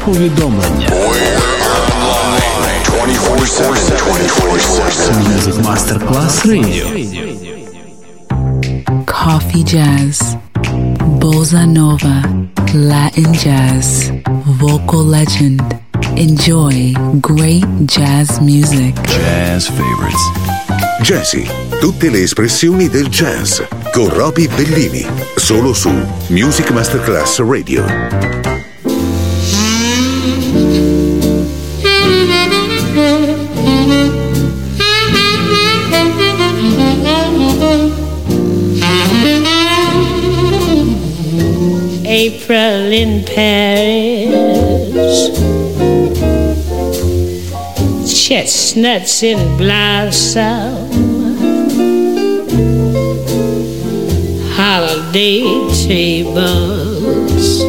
повідомлення. Music Masterclass Radio. Coffee jazz, bossa nova, Latin jazz, vocal legend. Enjoy great jazz music. Jazz favorites. Jazzy, tutte le espressioni del jazz con Roby Bellini, solo su Music Masterclass Radio. April in Paris, chestnuts in blossom, holiday tables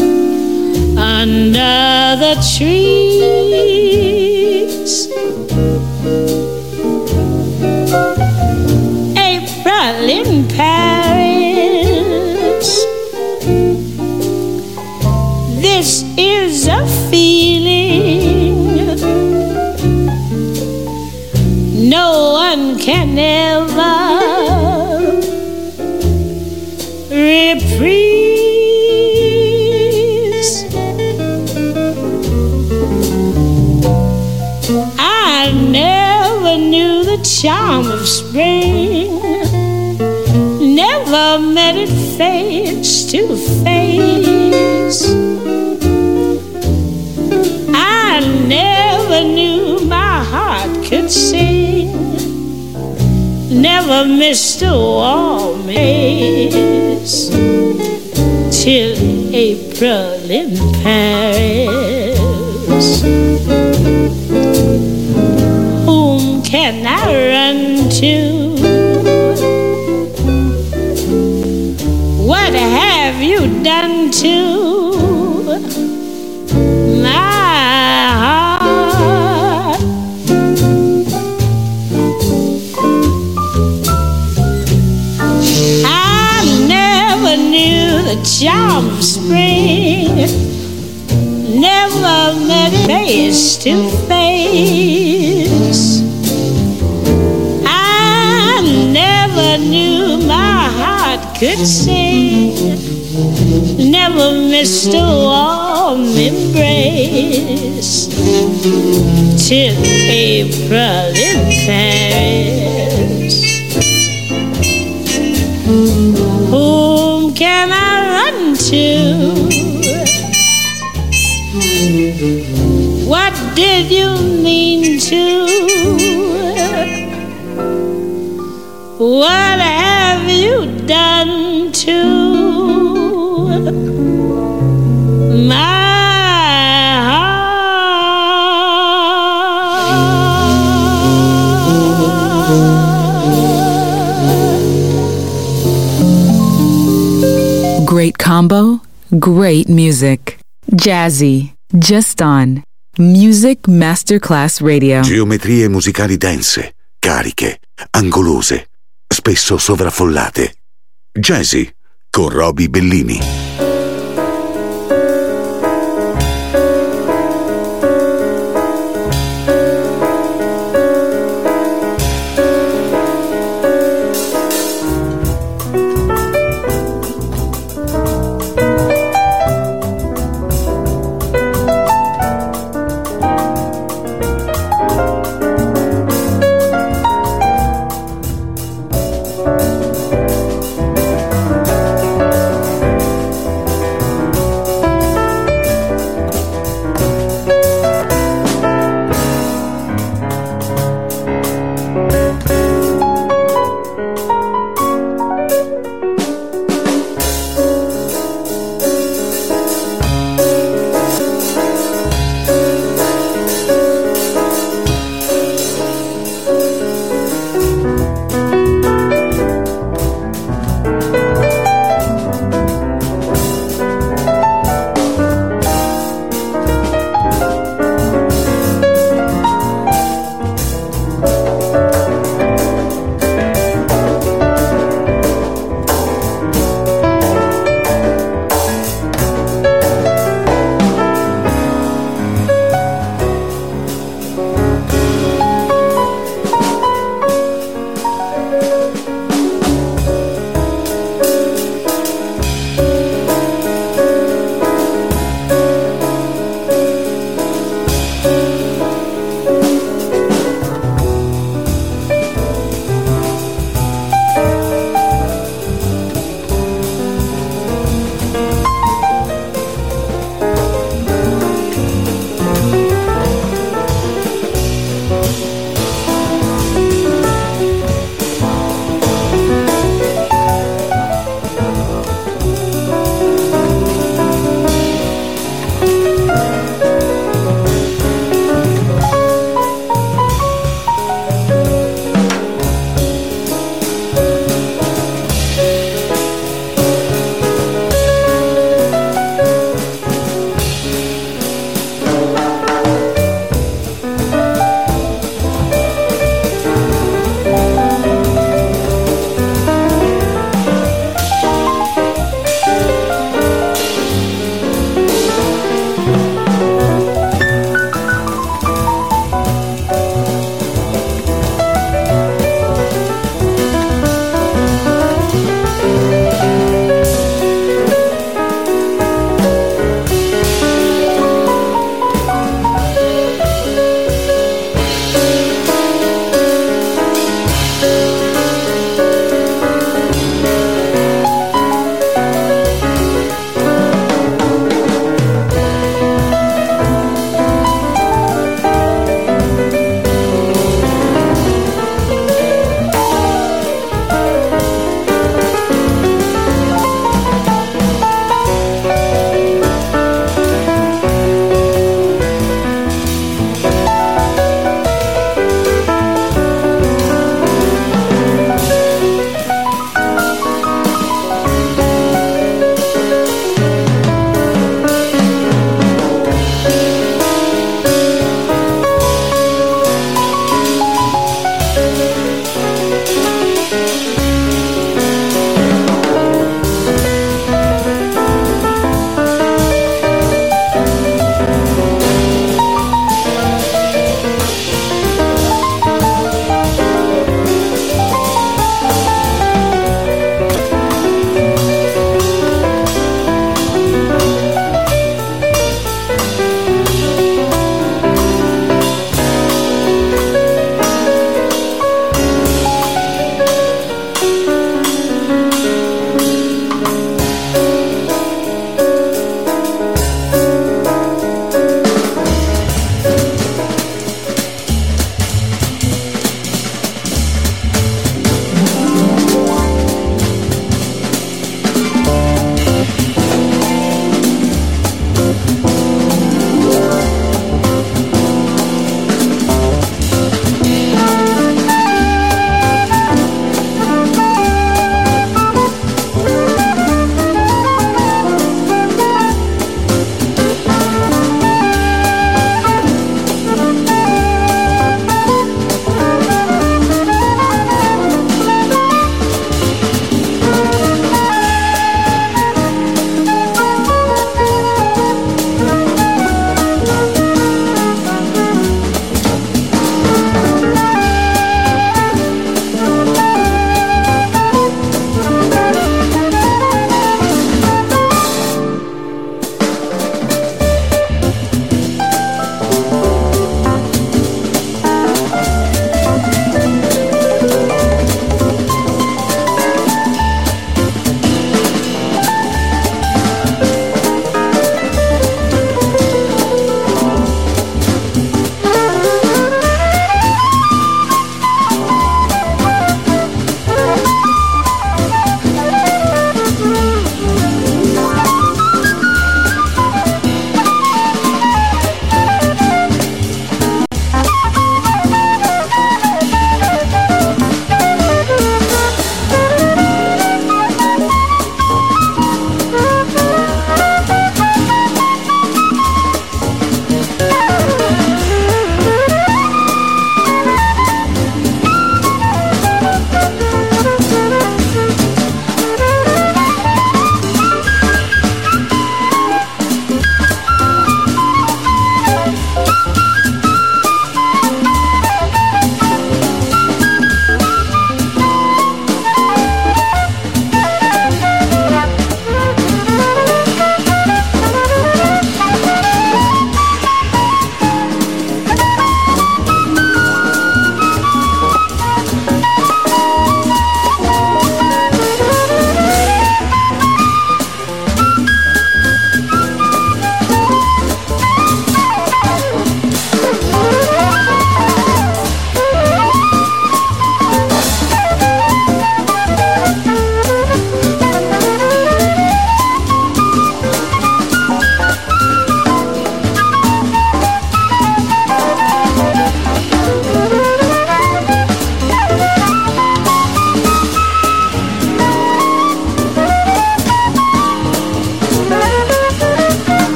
under the trees. April in Paris, this is a feeling no one can ever reprise. I never knew the charm of spring, never met it face to face. I never knew my heart could sing, never missed a warm embrace till April in Paris. Whom can I run to? What have you done to my heart? I never knew the charm of spring, never met it face to face. I never knew my heart could sing, never missed a warm embrace till April in Paris. Whom can I run to? What did you mean to? What have you done to my Great combo, great music. Jazzy, just on Music Masterclass Radio. Geometrie musicali dense, cariche, angolose, spesso sovraffollate. Jazzy con Roby Bellini.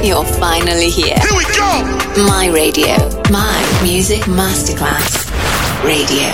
You're finally here. Here we go! My Radio. My Music Masterclass Radio.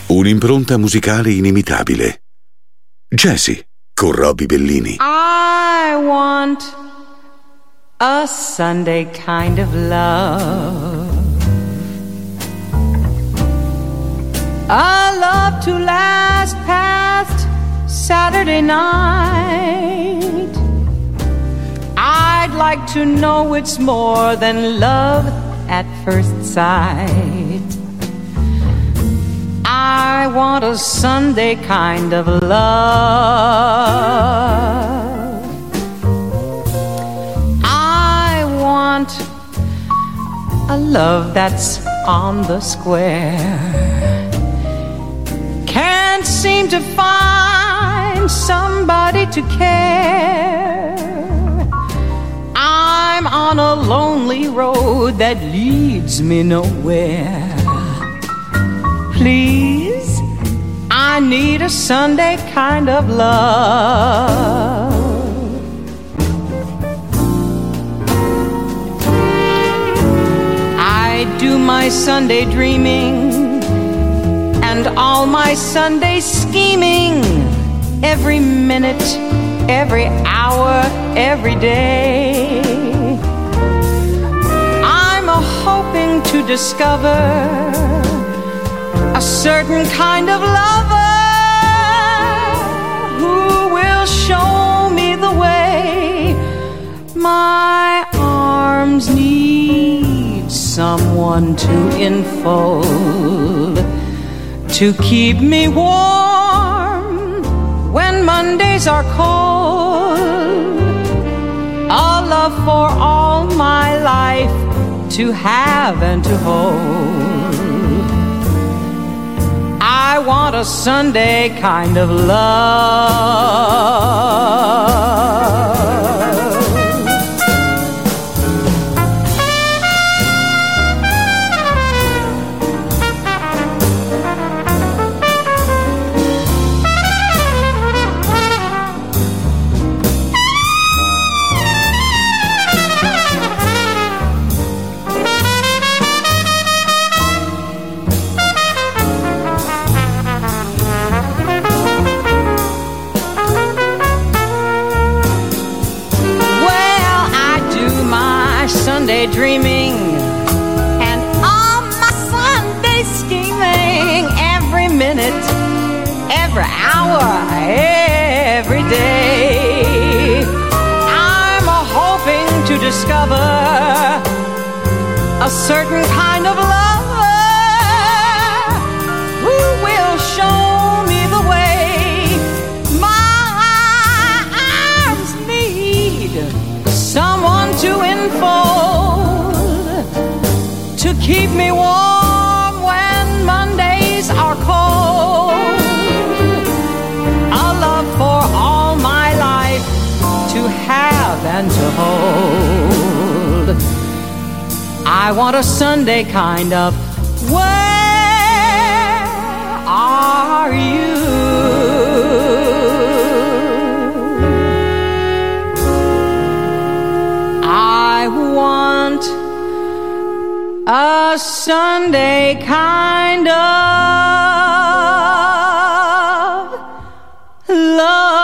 Un'impronta musicale inimitabile. Jazzy con Robbie Bellini. I want a Sunday kind of love, a love to last past Saturday night. I'd like to know it's more than love at first sight. I want a Sunday kind of love, I want a love that's on the square. Can't seem to find somebody to care. I'm on a lonely road that leads me nowhere. Please, I need a Sunday kind of love. I do my Sunday dreaming and all my Sunday scheming, every minute, every hour, every day. I'm hoping to discover a certain kind of lover who will show me the way. My arms need someone to enfold, to keep me warm when Mondays are cold. A love for all my life to have and to hold. I want a Sunday kind of love. Dreaming and all my Sunday scheming, every minute, every hour, every day. I'm hoping to discover a certain kind of lover who will show me the way. My arms need someone to enfold, to keep me warm when Mondays are cold. A love for all my life to have and to hold. I want a Sunday kind of where are you? I want a Sunday kind of love.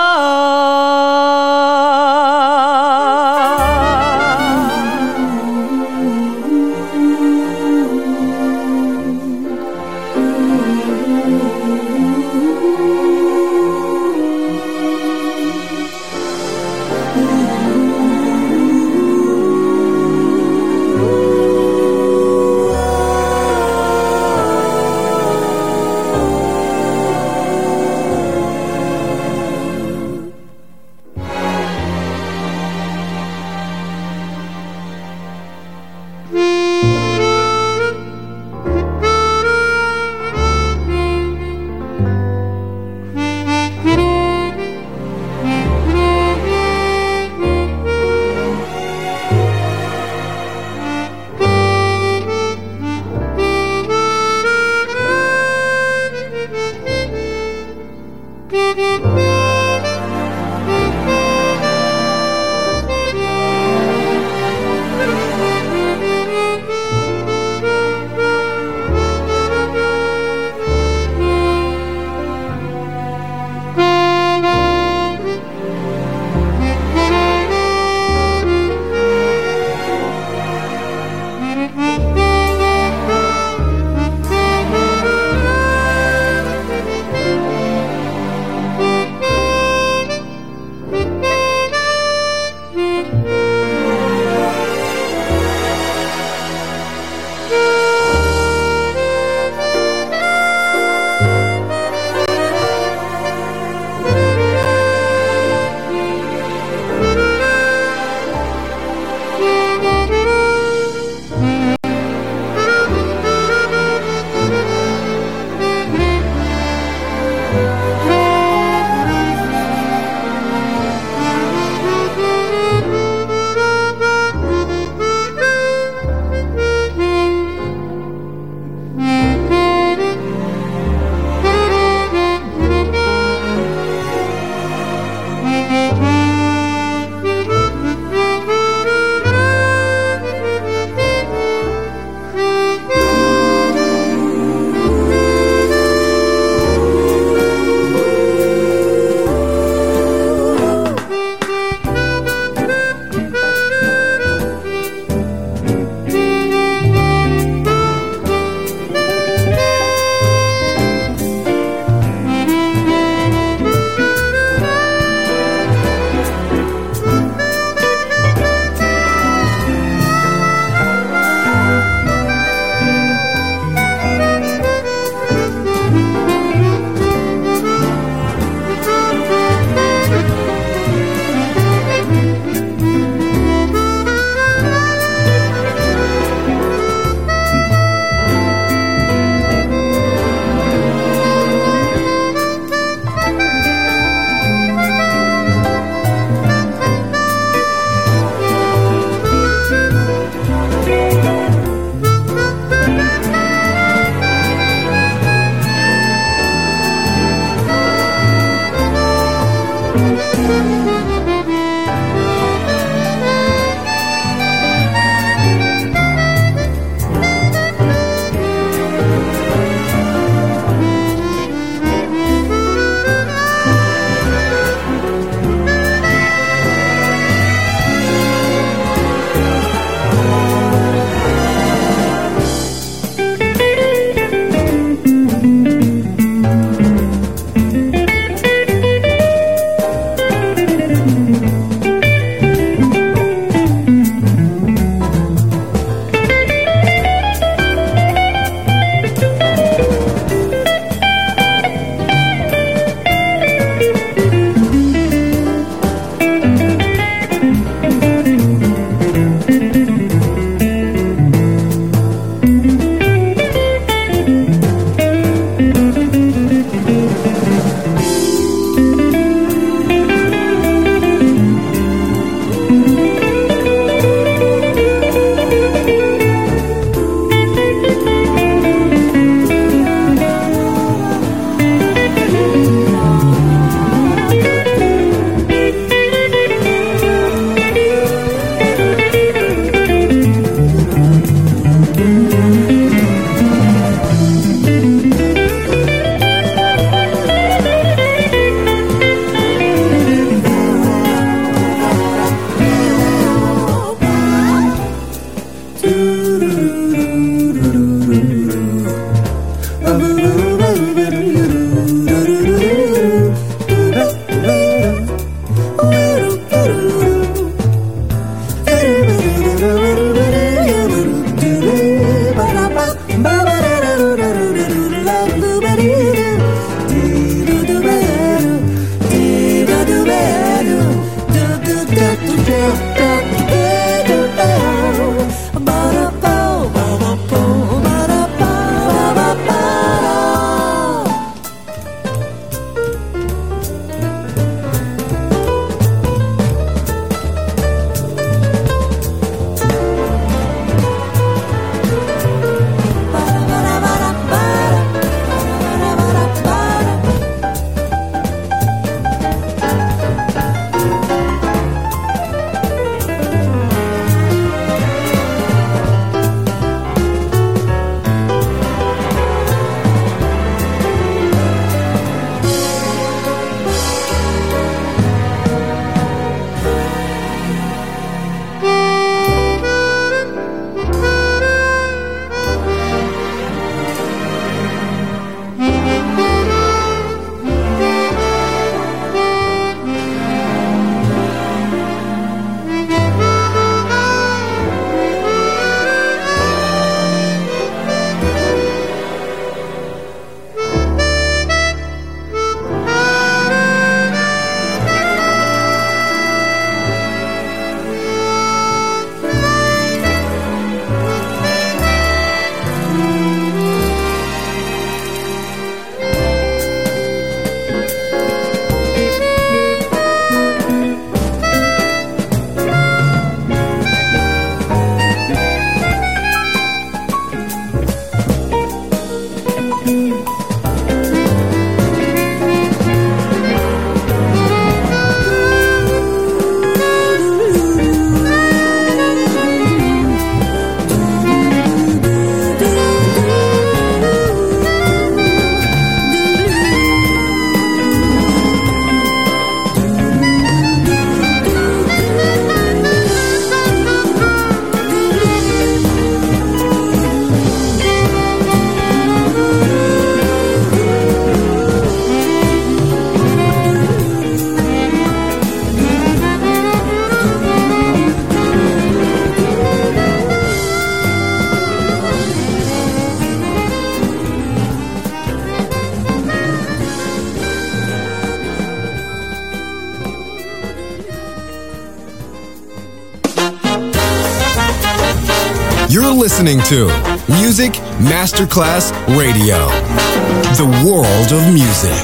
listening to Music Masterclass Radio, the world of music.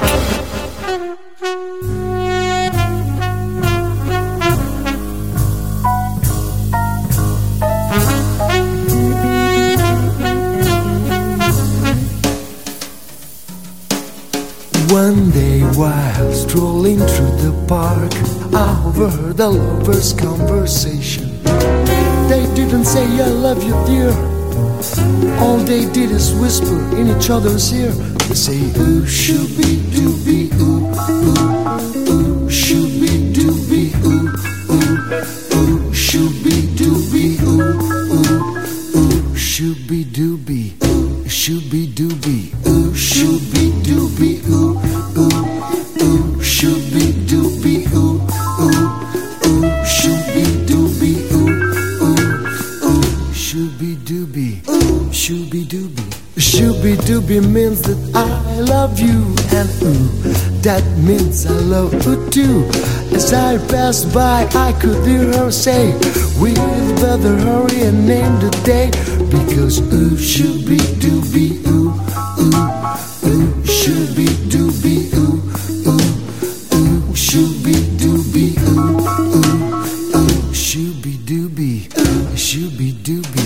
One day while strolling through the park, I overheard a lover's conversation. They didn't say I love you, dear. All they did is whisper in each other's ear. They say ooh, shooby dooby, ooh, ooh, ooh, shooby dooby, ooh, ooh, ooh, shooby dooby, ooh, ooh, ooh, shooby dooby, ooh, shooby dooby, ooh, shooby dooby, ooh, ooh, ooh, shooby dooby, ooh, ooh, ooh, shooby dooby, ooh, ooh, ooh, shooby dooby, ooh, shooby dooby. Shooby dooby means that I love you, and ooh, that means I love you too. As I passed by, I could hear her say, we'd better hurry and name the day, because ooh, shooby dooby, ooh, ooh, ooh, shooby dooby, ooh, ooh, ooh, shooby dooby, ooh, ooh, ooh, shooby dooby, ooh, shooby dooby.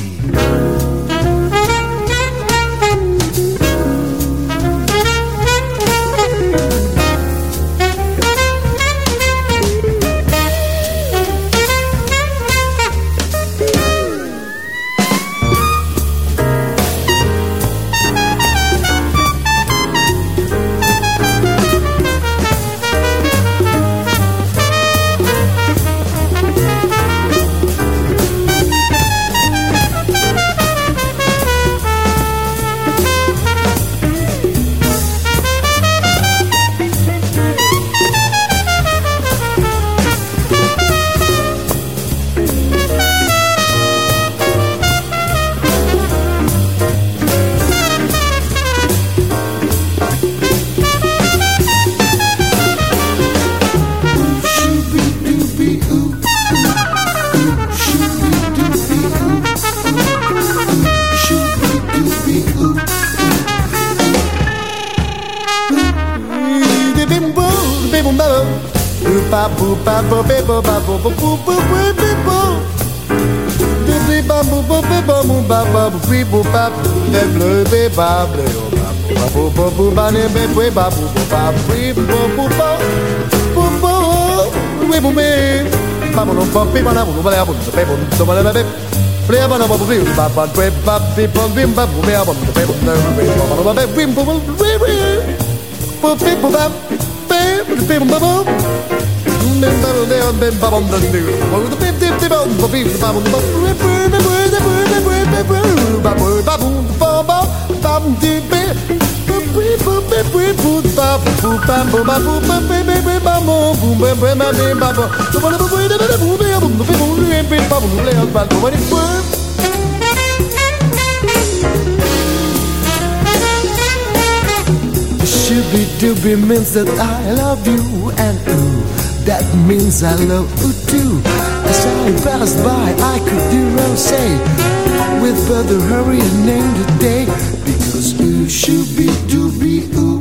Shooby dooby means that I love you, and ooh, that means I love you too. As I passed by, I could hear her say, we'd better hurry and name the day, because ooh, shooby dooby, ooh,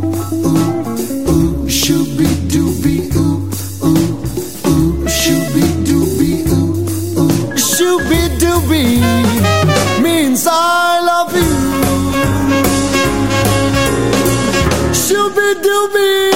ooh, ooh, shooby dooby, ooh, ooh, ooh, shooby dooby, ooh, ooh, shooby dooby means I love you. Shooby dooby.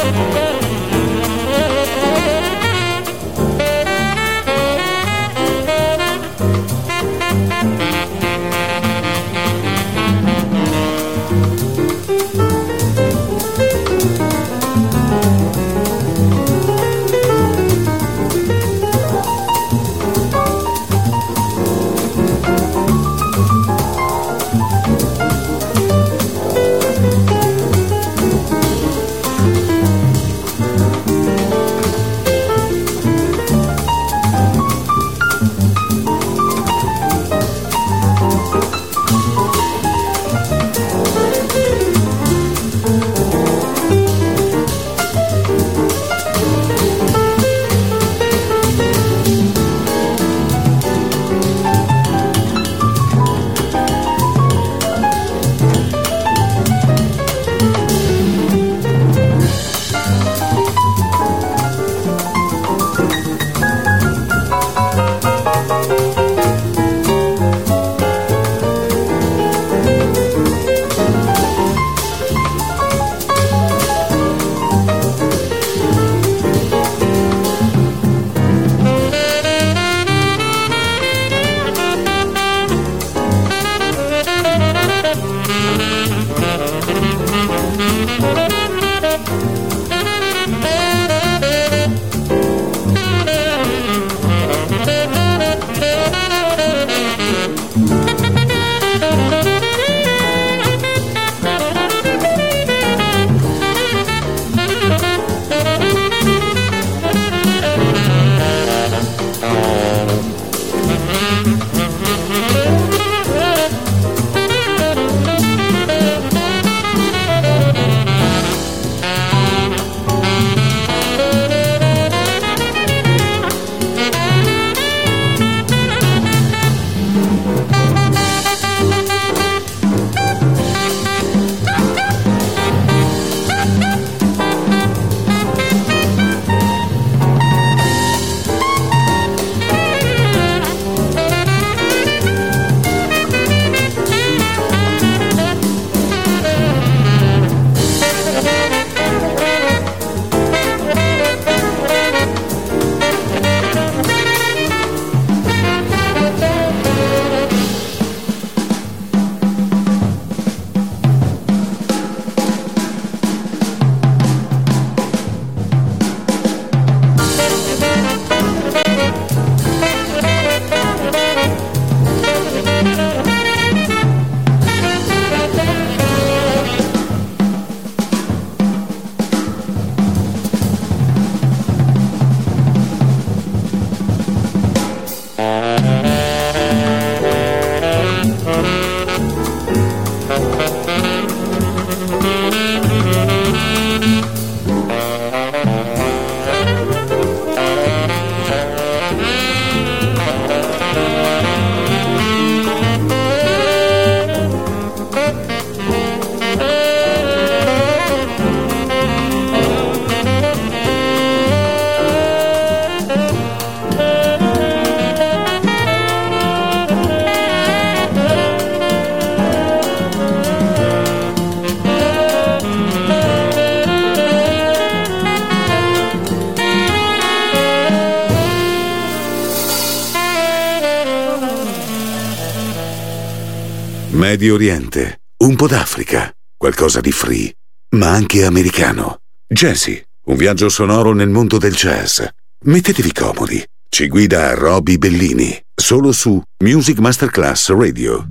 Medio Oriente, un po' d'Africa, qualcosa di free, ma anche americano. Jazzy, un viaggio sonoro nel mondo del jazz. Mettetevi comodi. Ci guida Roby Bellini, solo su Music Masterclass Radio.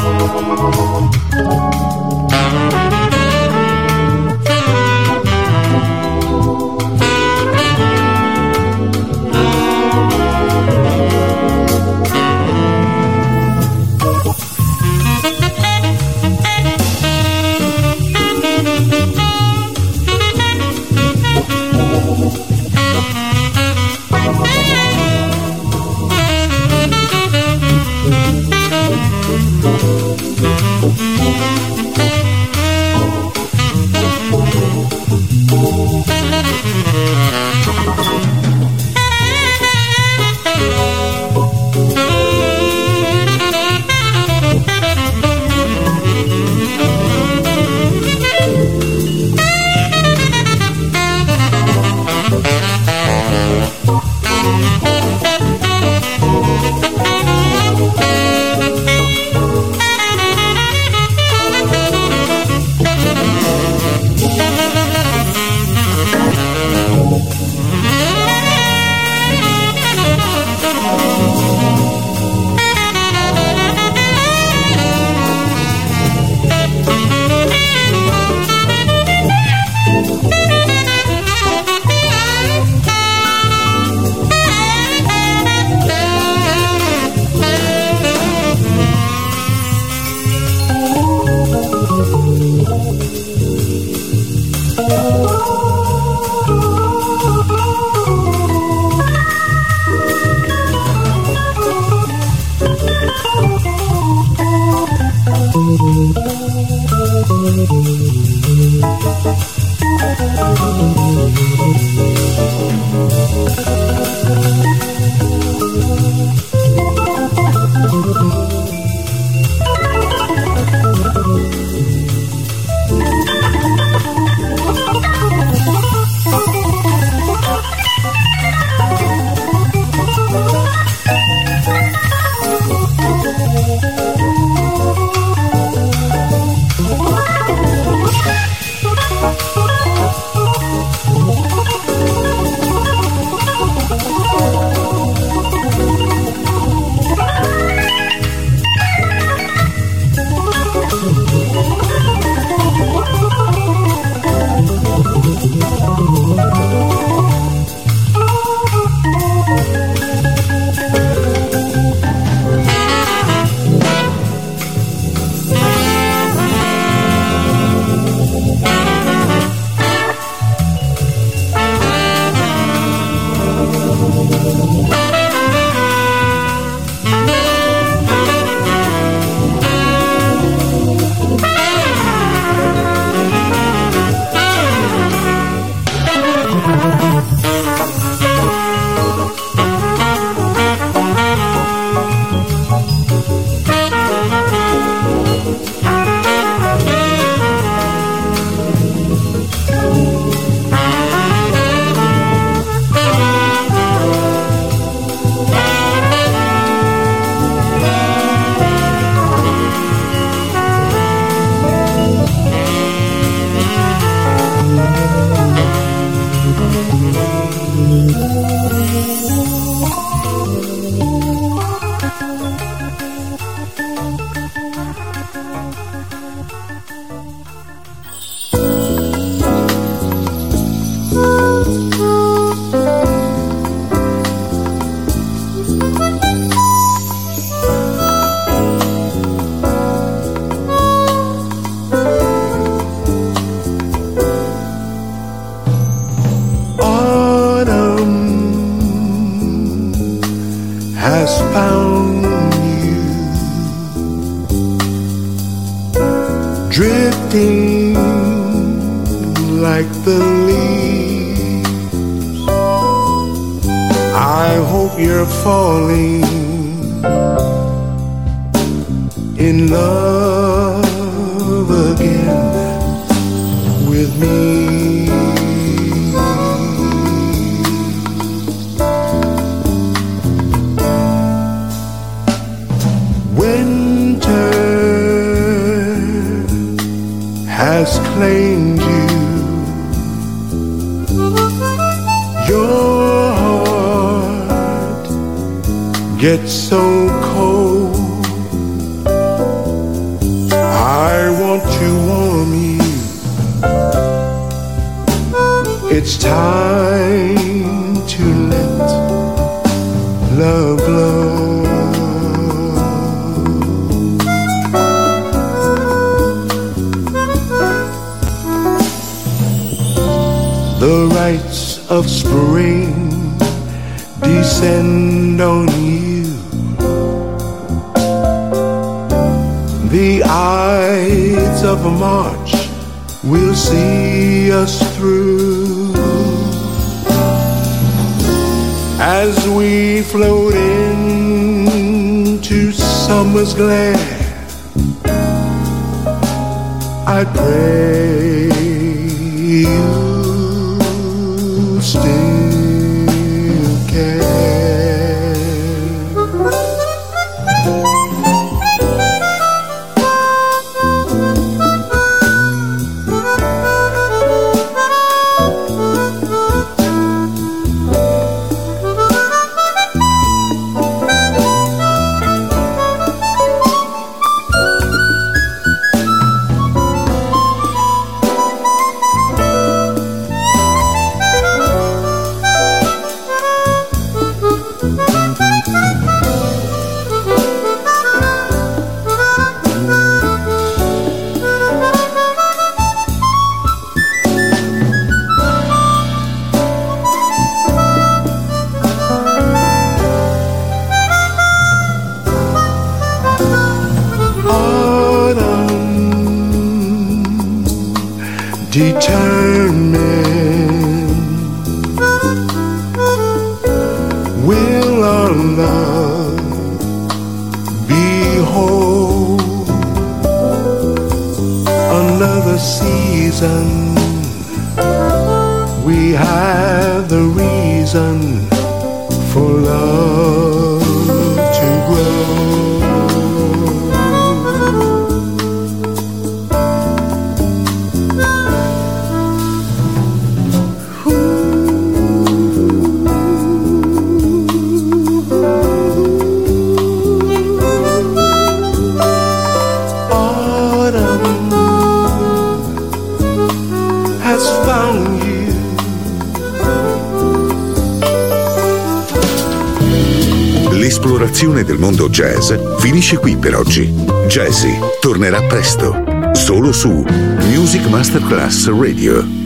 drifting like the leaves. I hope you're falling in love again with me. Has claimed you. Your heart gets so cold want to warm you. It's time to let love blow. The rites of spring descend on you. The Ides of March will see us through. As we float into summer's glare, I pray you still care. Determined, will our love be whole? Another season, we have the reason for love to grow. L'esplorazione del mondo jazz finisce qui per oggi. Jazzy tornerà presto, solo su Music Masterclass Radio.